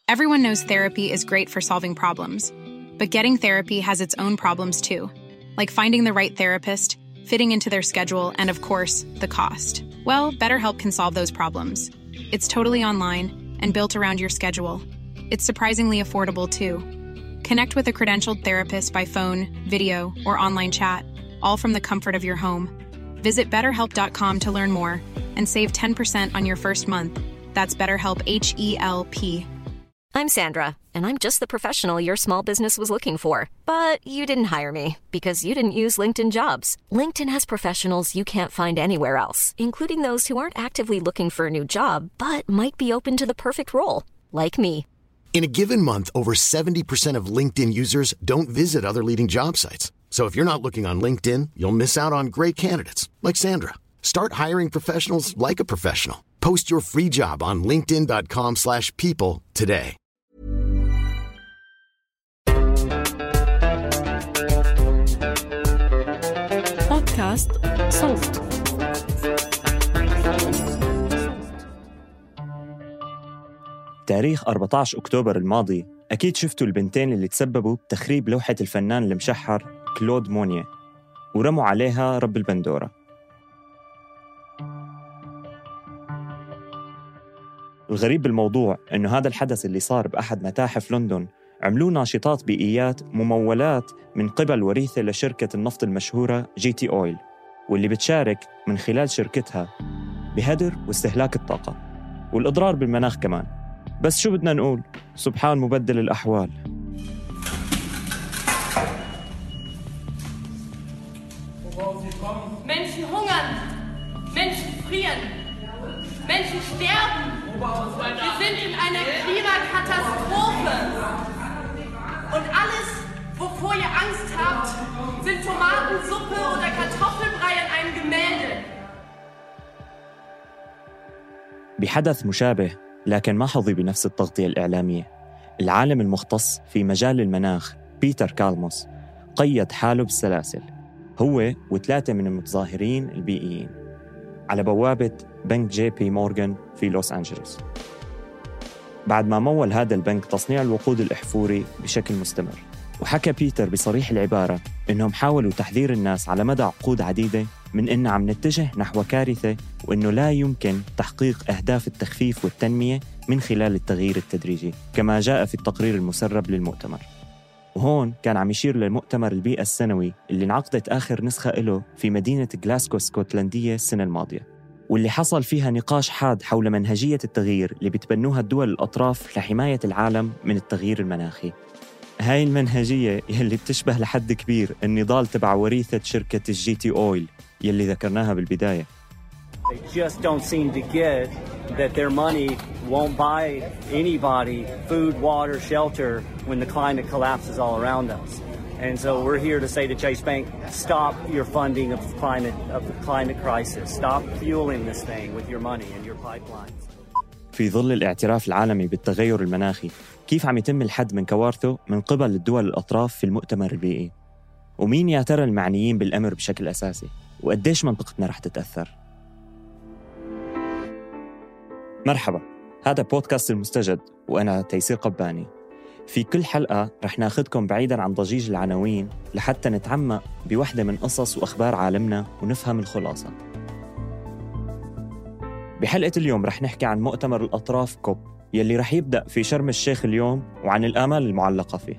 Everyone knows therapy is great for solving problems, but getting therapy has its own problems too, like finding the right therapist, fitting into their schedule, and of course, the cost. Well, BetterHelp can solve those problems. It's totally online and built around your schedule. It's surprisingly affordable too. Connect with a credentialed therapist by phone, video, or online chat, all from the comfort of your home. Visit BetterHelp.com to learn more and save 10% on your first month. That's BetterHelp, H-E-L-P. I'm Sandra, and I'm just the professional your small business was looking for. But you didn't hire me because you didn't use LinkedIn Jobs. LinkedIn has professionals you can't find anywhere else, including those who aren't actively looking for a new job, but might be open to the perfect role, like me. In a given month, over 70% of LinkedIn users don't visit other leading job sites. So if you're not looking on LinkedIn, you'll miss out on great candidates like Sandra. Start hiring professionals like a professional. Post your free job on linkedin.com/people today. بودكاست صوت. تاريخ 14 أكتوبر الماضي أكيد شفتوا البنتين اللي تسببوا بتخريب لوحة الفنان المشحر كلود مونيه ورموا عليها رب البندورة. الغريب بالموضوع إنه هذا الحدث اللي صار بأحد متاحف لندن عملوه ناشطات بيئيات ممولات من قبل وريثة لشركة النفط المشهورة GT Oil، واللي بتشارك من خلال شركتها بهدر واستهلاك الطاقة والإضرار بالمناخ كمان. بس شو بدنا نقول؟ سبحان مبدل الأحوال. Menschen hungern, Menschen frieren, Menschen sterben. Wir sind in einer Klimakatastrophe. Und alles, wovor ihr Angst habt, sind Tomatensuppe oder Kartoffelbrei in einem Gemälde. بحدث مشابه لكن ما حظي بنفس التغطية الإعلامية، العالم المختص في مجال المناخ بيتر كالموس قيد حاله بالسلاسل هو و3 من المتظاهرين البيئيين على بوابة بنك جي بي مورغان في لوس أنجلوس، بعد ما مول هذا البنك تصنيع الوقود الأحفوري بشكل مستمر. وحكى بيتر بصريح العبارة إنهم حاولوا تحذير الناس على مدى عقود عديدة من إن عم نتجه نحو كارثة، وإنه لا يمكن تحقيق أهداف التخفيف والتنمية من خلال التغيير التدريجي كما جاء في التقرير المسرب للمؤتمر. وهون كان عم يشير للمؤتمر البيئة السنوي اللي انعقدت آخر نسخة له في مدينة غلاسكو السكوتلندية السنة الماضية، واللي حصل فيها نقاش حاد حول منهجية التغيير اللي بتبنوها الدول الأطراف لحماية العالم من التغيير المناخي. هاي المنهجية يلي بتشبه لحد كبير النضال تبع وريثة شركة الجي تي أويل يلي ذكرناها بالبداية. They just don't seem to get that their money won't buy anybody food, water, shelter when the climate collapses all around us. And so we're here to say to Chase Bank, stop your funding of the climate crisis. Stop fueling this thing with your money and your pipelines. في ظل الاعتراف العالمي بالتغير المناخي، كيف عم يتم الحد من كوارثه من قبل الدول الأطراف في المؤتمر البيئي؟ ومين يا ترى المعنيين بالأمر بشكل أساسي؟ وقديش منطقتنا رح تتأثر؟ مرحبا، هذا بودكاست المستجد وأنا تيسير قباني. في كل حلقة رح ناخدكم بعيداً عن ضجيج العناوين لحتى نتعمق بوحدة من قصص وأخبار عالمنا ونفهم الخلاصة. بحلقة اليوم رح نحكي عن مؤتمر الأطراف كوب يلي رح يبدأ في شرم الشيخ اليوم وعن الآمال المعلقة فيه.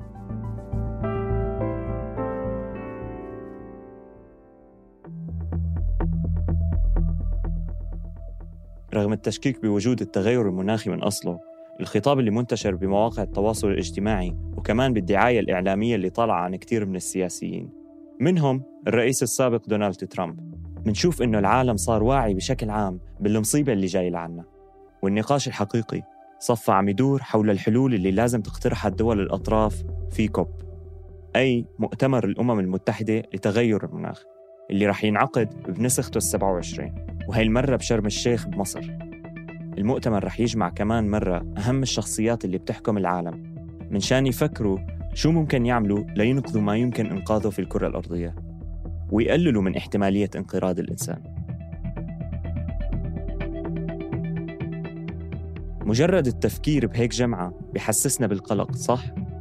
رغم التشكيك بوجود التغير المناخي من أصله، الخطاب اللي منتشر بمواقع التواصل الاجتماعي وكمان بالدعاية الإعلامية اللي طالعة عن كتير من السياسيين منهم الرئيس السابق دونالد ترامب، منشوف إنه العالم صار واعي بشكل عام بالمصيبة اللي جاي لعنا، والنقاش الحقيقي صفى عم يدور حول الحلول اللي لازم تقترحها الدول الأطراف في كوب، أي مؤتمر الأمم المتحدة لتغير المناخ اللي رح ينعقد بنسخته 27، وهي المرة بشرم الشيخ بمصر. المؤتمر رح يجمع كمان مرة أهم الشخصيات اللي بتحكم العالم من شان يفكروا شو ممكن يعملوا لينقذوا ما يمكن إنقاذه في الكرة الأرضية ويقللوا من احتمالية انقراض الإنسان. مجرد التفكير بهيك جمعة بحسسنا بالقلق، صح؟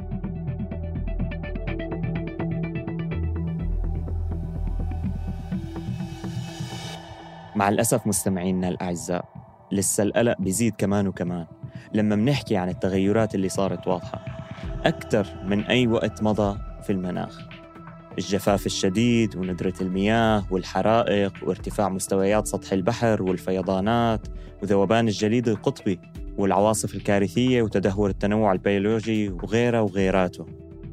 مع الأسف مستمعينا الأعزاء، لسه القلق بيزيد كمان وكمان لما منحكي عن التغيرات اللي صارت واضحة أكثر من أي وقت مضى في المناخ. الجفاف الشديد وندرة المياه والحرائق وارتفاع مستويات سطح البحر والفيضانات وذوبان الجليد القطبي والعواصف الكارثية وتدهور التنوع البيولوجي وغيرها وغيراته.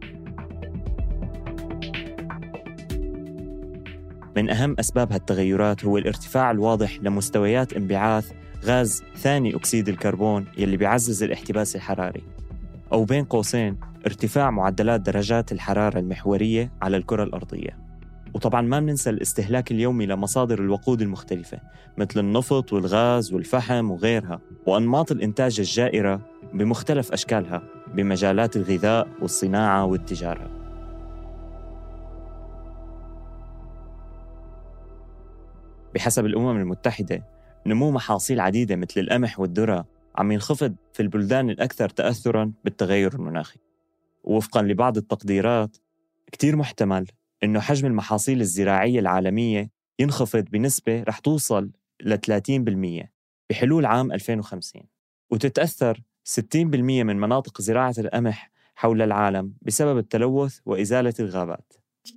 من أهم أسباب هالتغيرات هو الارتفاع الواضح لمستويات انبعاث غاز ثاني أكسيد الكربون يلي بيعزز الاحتباس الحراري، أو بين قوسين ارتفاع معدلات درجات الحرارة المحورية على الكرة الأرضية. وطبعاً ما بننسى الاستهلاك اليومي لمصادر الوقود المختلفة مثل النفط والغاز والفحم وغيرها، وأنماط الإنتاج الجائرة بمختلف أشكالها بمجالات الغذاء والصناعة والتجارة. بحسب الأمم المتحدة، نمو محاصيل عديدة مثل القمح والذرة عم ينخفض في البلدان الأكثر تأثراً بالتغير المناخي. ووفقاً لبعض التقديرات، كتير محتمل إنه حجم المحاصيل الزراعية العالمية ينخفض بنسبة رح توصل ل 30% بحلول عام 2050، وتتأثر 60% من مناطق زراعة القمح حول العالم بسبب التلوث وإزالة الغابات.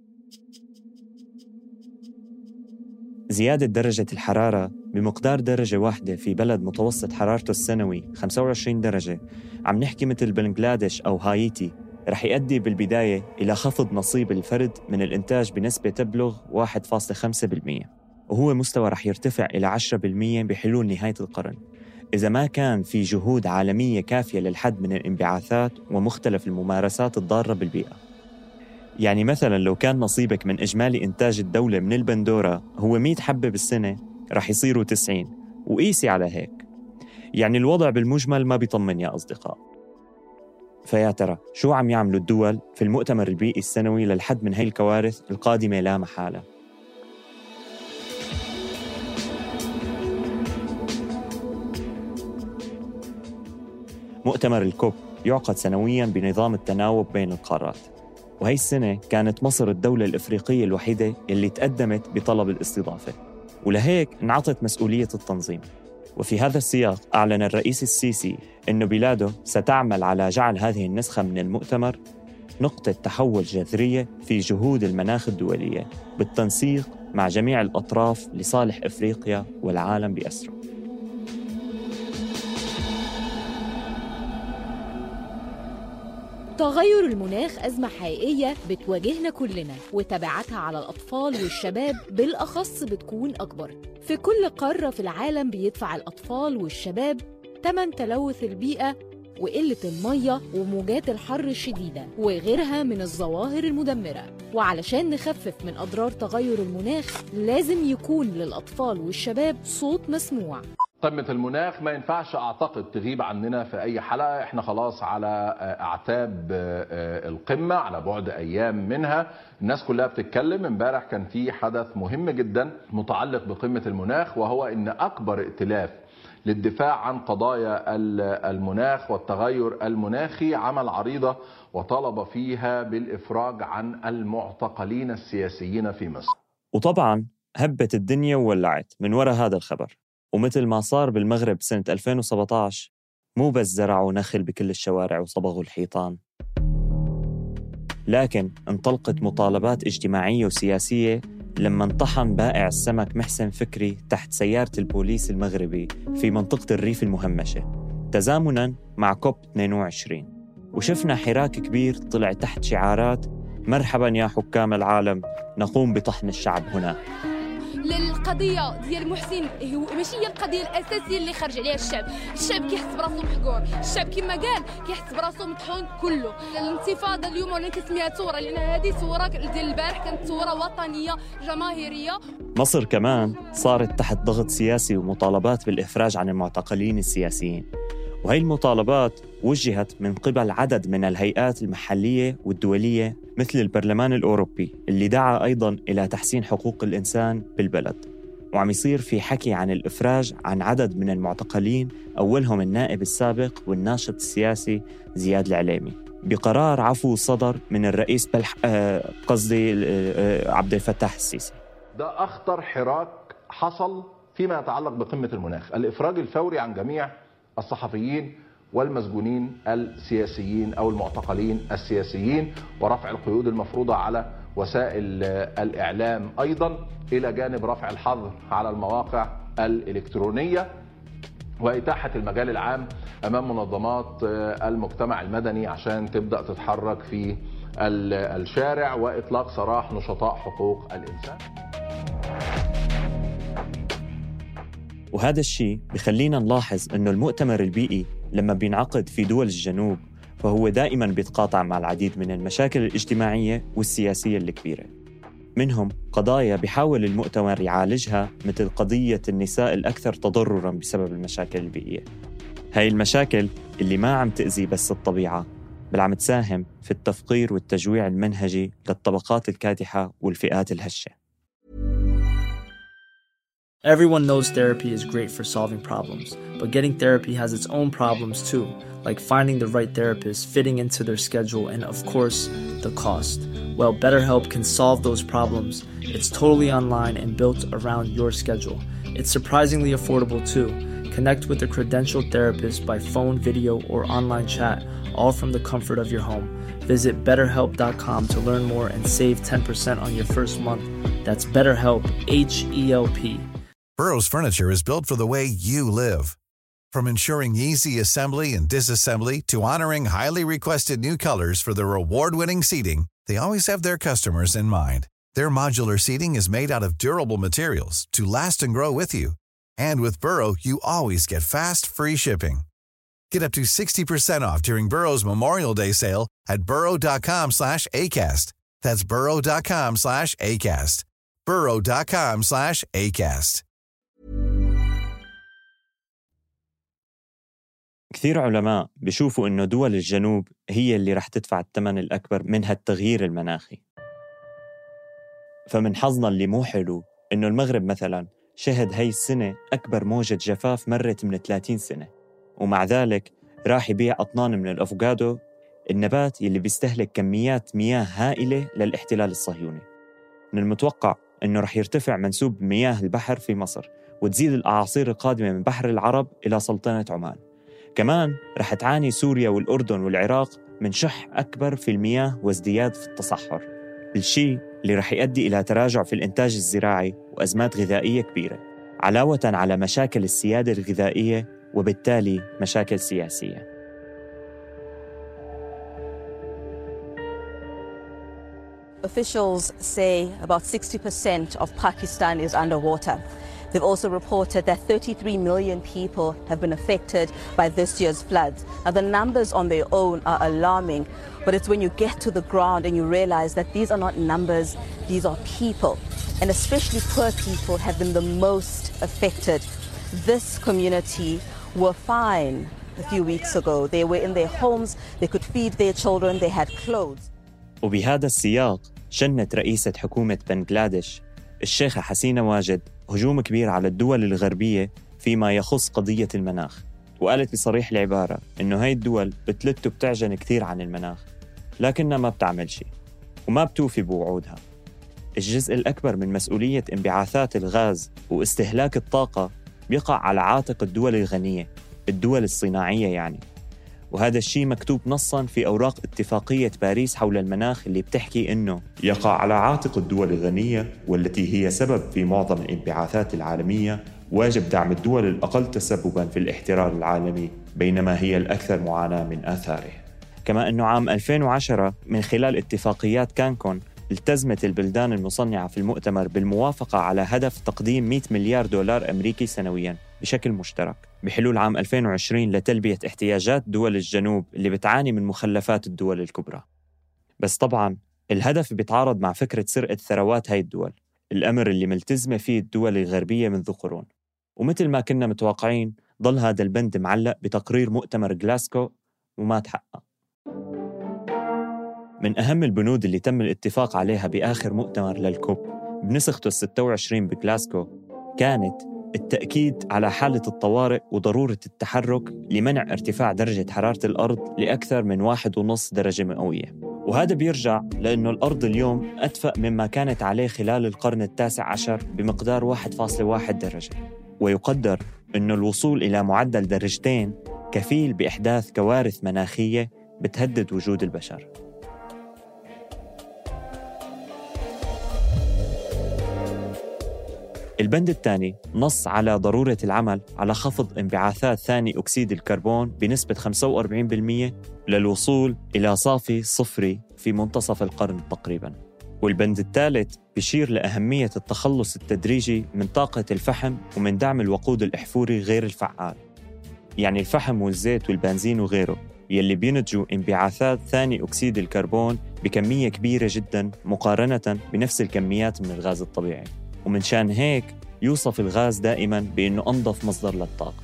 زيادة درجة الحرارة بمقدار درجة واحدة في بلد متوسط حرارته السنوي 25 درجة، عم نحكي مثل بنغلاديش أو هايتي، رح يؤدي بالبداية إلى خفض نصيب الفرد من الإنتاج بنسبة تبلغ 1.5%، وهو مستوى رح يرتفع إلى 10% بحلول نهاية القرن إذا ما كان في جهود عالمية كافية للحد من الانبعاثات ومختلف الممارسات الضارة بالبيئة. يعني مثلاً لو كان نصيبك من إجمالي إنتاج الدولة من البندورة هو 100 حبة بالسنة، رح يصيروا 90، وقيسي على هيك. يعني الوضع بالمجمل ما بيطمن يا أصدقاء. فيا ترى شو عم يعملوا الدول في المؤتمر البيئي السنوي للحد من هاي الكوارث القادمة لا محالة؟ مؤتمر الكوب يعقد سنوياً بنظام التناوب بين القارات، وهي السنة كانت مصر الدولة الإفريقية الوحيدة اللي تقدمت بطلب الاستضافة، ولهيك انعطت مسؤولية التنظيم. وفي هذا السياق أعلن الرئيس السيسي أن بلاده ستعمل على جعل هذه النسخة من المؤتمر نقطة تحول جذرية في جهود المناخ الدولية بالتنسيق مع جميع الأطراف لصالح إفريقيا والعالم بأسره. تغير المناخ أزمة حقيقية بتواجهنا كلنا، وتبعاتها على الأطفال والشباب بالأخص بتكون أكبر. في كل قارة في العالم بيدفع الأطفال والشباب ثمن تلوث البيئة وقلة المية وموجات الحر الشديدة وغيرها من الظواهر المدمرة. وعلشان نخفف من أضرار تغير المناخ لازم يكون للأطفال والشباب صوت مسموع. قمة المناخ ما ينفعش أعتقد تغيب عننا في أي حلقة، إحنا خلاص على أعتاب القمة، على بعد أيام منها. الناس كلها بتتكلم. امبارح كان في حدث مهم جدا متعلق بقمة المناخ، وهو إن أكبر ائتلاف للدفاع عن قضايا المناخ والتغير المناخي عمل عريضة وطلب فيها بالإفراج عن المعتقلين السياسيين في مصر. وطبعاً هبت الدنيا وولعت من وراء هذا الخبر. ومثل ما صار بالمغرب سنة 2017، مو بس زرعوا نخل بكل الشوارع وصبغوا الحيطان، لكن انطلقت مطالبات اجتماعية وسياسية لما انطحن بائع السمك محسن فكري تحت سيارة البوليس المغربي في منطقة الريف المهمشة تزامناً مع كوب 22. وشفنا حراك كبير طلع تحت شعارات مرحباً يا حكام العالم، نقوم بطحن الشعب هنا. للقضيه ديال محسن هو ماشي هي القضيه الاساسيه اللي خرج عليها الشعب كيحس براسو محقور، الشعب كما قال كيحس براسو مطحون كله. الانتفاضه اليوم ولا كنسميها ثوره لان هذه ثوره ديال البارح كانت ثوره وطنيه جماهيريه. مصر كمان صارت تحت ضغط سياسي ومطالبات بالافراج عن المعتقلين السياسيين، وهي المطالبات وجهت من قبل عدد من الهيئات المحلية والدولية مثل البرلمان الأوروبي اللي دعا أيضاً إلى تحسين حقوق الإنسان بالبلد. وعم يصير في حكي عن الإفراج عن عدد من المعتقلين، أولهم النائب السابق والناشط السياسي زياد العليمي، بقرار عفو صدر من الرئيس عبد الفتاح السيسي. ده أخطر حراك حصل فيما يتعلق بقمة المناخ، الإفراج الفوري عن جميع الصحفيين والمسجونين السياسيين أو المعتقلين السياسيين، ورفع القيود المفروضة على وسائل الإعلام أيضا، إلى جانب رفع الحظر على المواقع الإلكترونية، وإتاحة المجال العام أمام منظمات المجتمع المدني عشان تبدأ تتحرك في الشارع، وإطلاق سراح نشطاء حقوق الإنسان. وهذا الشيء بخلينا نلاحظ أنه المؤتمر البيئي لما بينعقد في دول الجنوب فهو دائماً بيتقاطع مع العديد من المشاكل الاجتماعية والسياسية الكبيرة. منهم قضايا بيحاول المؤتمر يعالجها، مثل قضية النساء الأكثر تضرراً بسبب المشاكل البيئية. هاي المشاكل اللي ما عم تأذي بس الطبيعة، بل عم تساهم في التفقير والتجويع المنهجي للطبقات الكادحة والفئات الهشة. Everyone knows therapy is great for solving problems, but getting therapy has its own problems too, like finding the right therapist, fitting into their schedule, and of course, the cost. Well, BetterHelp can solve those problems. It's totally online and built around your schedule. It's surprisingly affordable too. Connect with a credentialed therapist by phone, video, or online chat, all from the comfort of your home. Visit BetterHelp.com to learn more and save 10% on your first month. That's BetterHelp, H-E-L-P. Burrow's furniture is built for the way you live. From ensuring easy assembly and disassembly to honoring highly requested new colors for their award-winning seating, they always have their customers in mind. Their modular seating is made out of durable materials to last and grow with you. And with Burrow, you always get fast, free shipping. Get up to 60% off during Burrow's Memorial Day sale at burrow.com/ACAST. That's burrow.com/ACAST. burrow.com/ACAST. كثير علماء بيشوفوا إنه دول الجنوب هي اللي رح تدفع الثمن الأكبر من هالتغيير المناخي. فمن حظنا اللي مو حلو إنه المغرب مثلاً شهد هاي السنة أكبر موجة جفاف مرت من 30 سنة، ومع ذلك راح يبيع أطنان من الأفوكادو، النبات يلي بيستهلك كميات مياه هائلة للاحتلال الصهيوني. من المتوقع إنه رح يرتفع منسوب مياه البحر في مصر، وتزيد الأعاصير القادمة من بحر العرب إلى سلطنة عمان. كمان رح تعاني سوريا والأردن والعراق من شح أكبر في المياه وازدياد في التصحر، الشيء اللي رح يؤدي إلى تراجع في الإنتاج الزراعي وأزمات غذائية كبيرة، علاوة على مشاكل السيادة الغذائية وبالتالي مشاكل سياسية. Officials say about 60% of Pakistan is underwater. They've also reported that 33 million people have been affected by this year's floods. Now, the numbers on their own are alarming, but it's when you get to the ground and you realize that these are not numbers, these are people. And especially poor people have been the most affected. This community were fine a few weeks ago. They were in their homes, they could feed their children, they had clothes. وبهذا السياق شنت رئيسة حكومة بنغلاديش الشيخة حسينة واجد هجوم كبير على الدول الغربية فيما يخص قضية المناخ، وقالت بصريح العبارة إنه هاي الدول بتلت وبتعجن كثير عن المناخ، لكنها ما بتعمل شيء وما بتوفي بوعودها. الجزء الأكبر من مسؤولية انبعاثات الغاز واستهلاك الطاقة بيقع على عاتق الدول الغنية، الدول الصناعية يعني. وهذا الشيء مكتوب نصاً في أوراق اتفاقية باريس حول المناخ اللي بتحكي إنه يقع على عاتق الدول الغنية والتي هي سبب في معظم الانبعاثات العالمية، واجب دعم الدول الأقل تسبباً في الاحترار العالمي بينما هي الأكثر معاناة من آثاره. كما أنه عام 2010 من خلال اتفاقيات كانكون التزمت البلدان المصنعة في المؤتمر بالموافقة على هدف تقديم 100 مليار دولار أمريكي سنوياً بشكل مشترك بحلول عام 2020 لتلبية احتياجات دول الجنوب اللي بتعاني من مخلفات الدول الكبرى. بس طبعاً الهدف بيتعارض مع فكرة سرقة ثروات هاي الدول، الأمر اللي ملتزمة فيه الدول الغربية منذ قرون. ومثل ما كنا متوقعين ضل هذا البند معلق بتقرير مؤتمر غلاسكو وما تحقق. من أهم البنود اللي تم الاتفاق عليها بآخر مؤتمر للكوب بنسخته 26 بغلاسكو كانت التأكيد على حالة الطوارئ وضرورة التحرك لمنع ارتفاع درجة حرارة الأرض لأكثر من 1.5 درجة مئوية. وهذا بيرجع لأنه الأرض اليوم أدفأ مما كانت عليه خلال القرن التاسع عشر بمقدار 1.1 درجة، ويقدر أنه الوصول إلى معدل درجتين كفيل بإحداث كوارث مناخية بتهدد وجود البشر. البند الثاني نص على ضرورة العمل على خفض انبعاثات ثاني أكسيد الكربون بنسبة 45% للوصول إلى صافي صفري في منتصف القرن تقريباً. والبند الثالث بيشير لأهمية التخلص التدريجي من طاقة الفحم ومن دعم الوقود الأحفوري غير الفعال، يعني الفحم والزيت والبنزين وغيره، يلي بينتجوا انبعاثات ثاني أكسيد الكربون بكمية كبيرة جداً مقارنة بنفس الكميات من الغاز الطبيعي، ومن شان هيك يوصف الغاز دائماً بأنه أنظف مصدر للطاقة.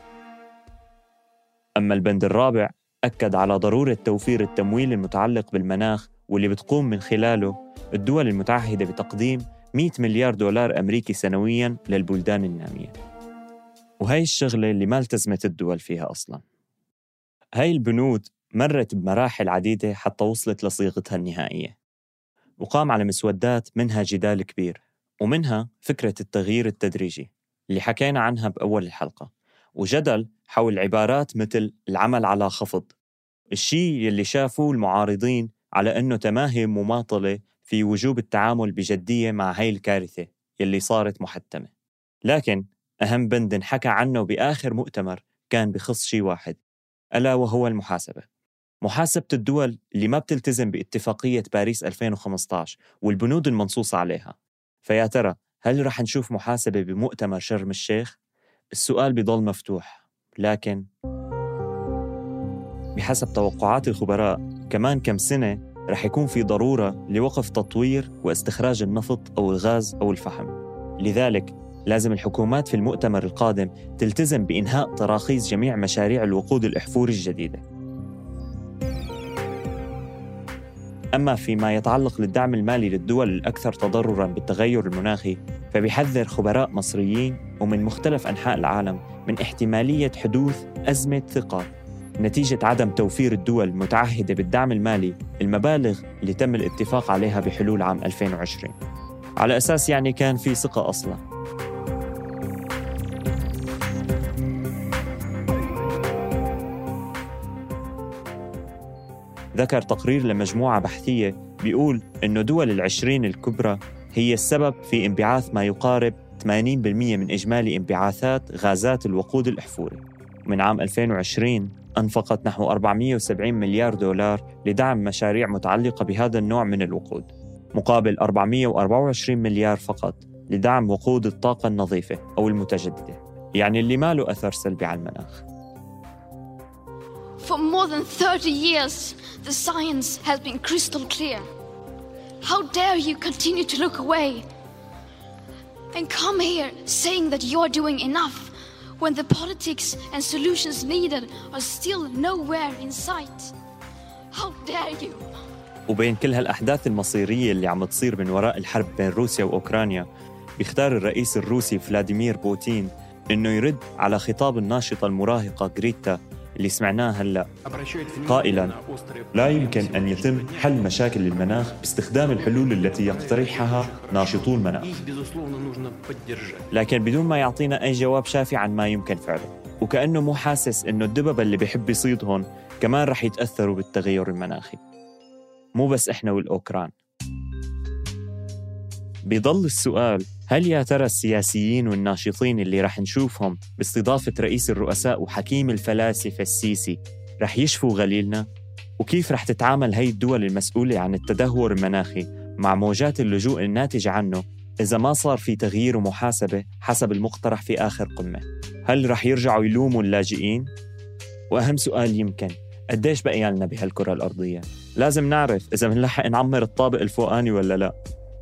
أما البند الرابع أكد على ضرورة توفير التمويل المتعلق بالمناخ، واللي بتقوم من خلاله الدول المتعهدة بتقديم 100 مليار دولار أمريكي سنوياً للبلدان النامية. وهي الشغلة اللي ما التزمت الدول فيها أصلاً. هاي البنود مرت بمراحل عديدة حتى وصلت لصيغتها النهائية، وقام على مسودات منها جدال كبير، ومنها فكرة التغيير التدريجي اللي حكينا عنها بأول الحلقة، وجدل حول عبارات مثل العمل على خفض، الشيء اللي شافوه المعارضين على أنه تماهي مماطلة في وجوب التعامل بجدية مع هاي الكارثة اللي صارت محتمة. لكن أهم بند انحكى عنه بآخر مؤتمر كان بخص شيء واحد، ألا وهو المحاسبة. محاسبة الدول اللي ما بتلتزم باتفاقية باريس 2015 والبنود المنصوصة عليها. فيا ترى هل رح نشوف محاسبة بمؤتمر شرم الشيخ؟ السؤال بيضل مفتوح، لكن بحسب توقعات الخبراء كمان كم سنة رح يكون في ضرورة لوقف تطوير واستخراج النفط أو الغاز أو الفحم. لذلك لازم الحكومات في المؤتمر القادم تلتزم بإنهاء تراخيص جميع مشاريع الوقود الأحفوري الجديدة. أما فيما يتعلق للدعم المالي للدول الأكثر تضرراً بالتغير المناخي، فبيحذر خبراء مصريين ومن مختلف أنحاء العالم من احتمالية حدوث أزمة ثقة نتيجة عدم توفير الدول المتعهدة بالدعم المالي المبالغ اللي تم الاتفاق عليها بحلول عام 2020، على أساس يعني كان في ثقة أصلاً. ذكر تقرير لمجموعة بحثية بيقول إنه دول ال20 الكبرى هي السبب في انبعاث ما يقارب 80% من إجمالي انبعاثات غازات الوقود الأحفوري. من عام 2020 أنفقت نحو 470 مليار دولار لدعم مشاريع متعلقة بهذا النوع من الوقود، مقابل 424 مليار فقط لدعم وقود الطاقة النظيفة أو المتجددة، يعني اللي ما له أثر سلبي على المناخ. For more than 30 years, the science has been crystal clear. How dare you continue to look away and come here saying that you're doing enough when the politics and solutions needed are still nowhere in sight? How dare you? وبين كل هالأحداث المصيرية اللي عم تصير من وراء الحرب بين روسيا وأوكرانيا، بيختار الرئيس الروسي فلاديمير بوتين إنه يرد على خطاب الناشطة المراهقة غريتا اللي سمعناه هلأ، قائلاً: لا يمكن أن يتم حل مشاكل المناخ باستخدام الحلول التي يقترحها ناشطو المناخ، لكن بدون ما يعطينا أي جواب شافي عن ما يمكن فعله، وكأنه مو حاسس إنه الدببة اللي بيحب يصيدهم كمان رح يتأثروا بالتغير المناخي، مو بس إحنا والأوكران. بيضل السؤال: هل يا ترى السياسيين والناشطين اللي رح نشوفهم باستضافة رئيس الرؤساء وحكيم الفلاسفة السيسي رح يشفوا غليلنا؟ وكيف رح تتعامل هاي الدول المسؤولة عن التدهور المناخي مع موجات اللجوء الناتجة عنه إذا ما صار في تغيير ومحاسبة حسب المقترح في آخر قمة؟ هل رح يرجعوا يلوموا اللاجئين؟ وأهم سؤال يمكن: قديش بقي لنا بهالكرة الأرضية؟ لازم نعرف إذا منلحق نعمر الطابق الفوقاني ولا لا.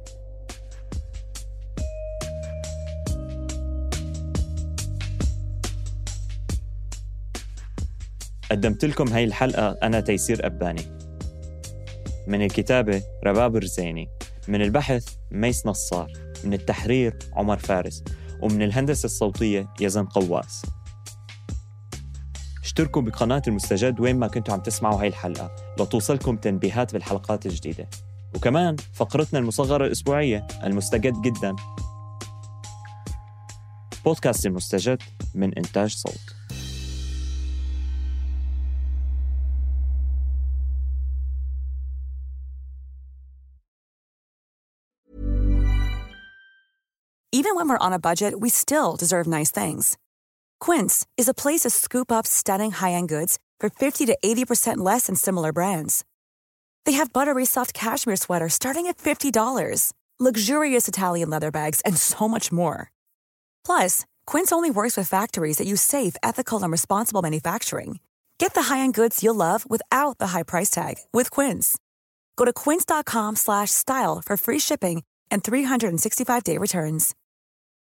قدمت لكم هاي الحلقة أنا تيسير أباني، من الكتابة رباب رزيني، من البحث ميس نصار، من التحرير عمر فارس، ومن الهندسة الصوتية يزن قواس. اشتركوا بقناة المستجد وين ما كنتوا عم تسمعوا هاي الحلقة لتوصلكم تنبيهات بالحلقات الجديدة. وكمان فقرتنا المصغرة الأسبوعية المستجد جدا. بودكاست المستجد من إنتاج صوت. Even when we're on a budget, we still deserve nice things. Quince is a place to scoop up stunning high-end goods for 50 to 80% less than similar brands. They have buttery soft cashmere sweaters starting at $50, luxurious Italian leather bags, and so much more. Plus, Quince only works with factories that use safe, ethical, and responsible manufacturing. Get the high-end goods you'll love without the high price tag with Quince. Go to quince.com/style for free shipping and 365-day returns.